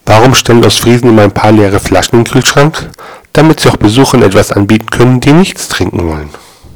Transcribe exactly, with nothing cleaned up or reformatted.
Warum stellen Ostfriesen immer ein paar leere Flaschen in den Kühlschrank? Damit sie auch Besuchern etwas anbieten können, die nichts trinken wollen.